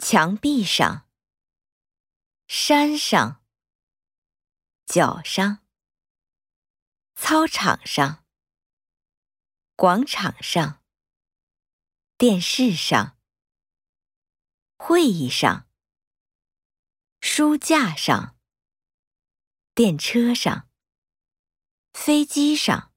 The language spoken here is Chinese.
墙壁上、山上、脚上、操场上、广场上、电视上、会议上、书架上、电车上、飞机上。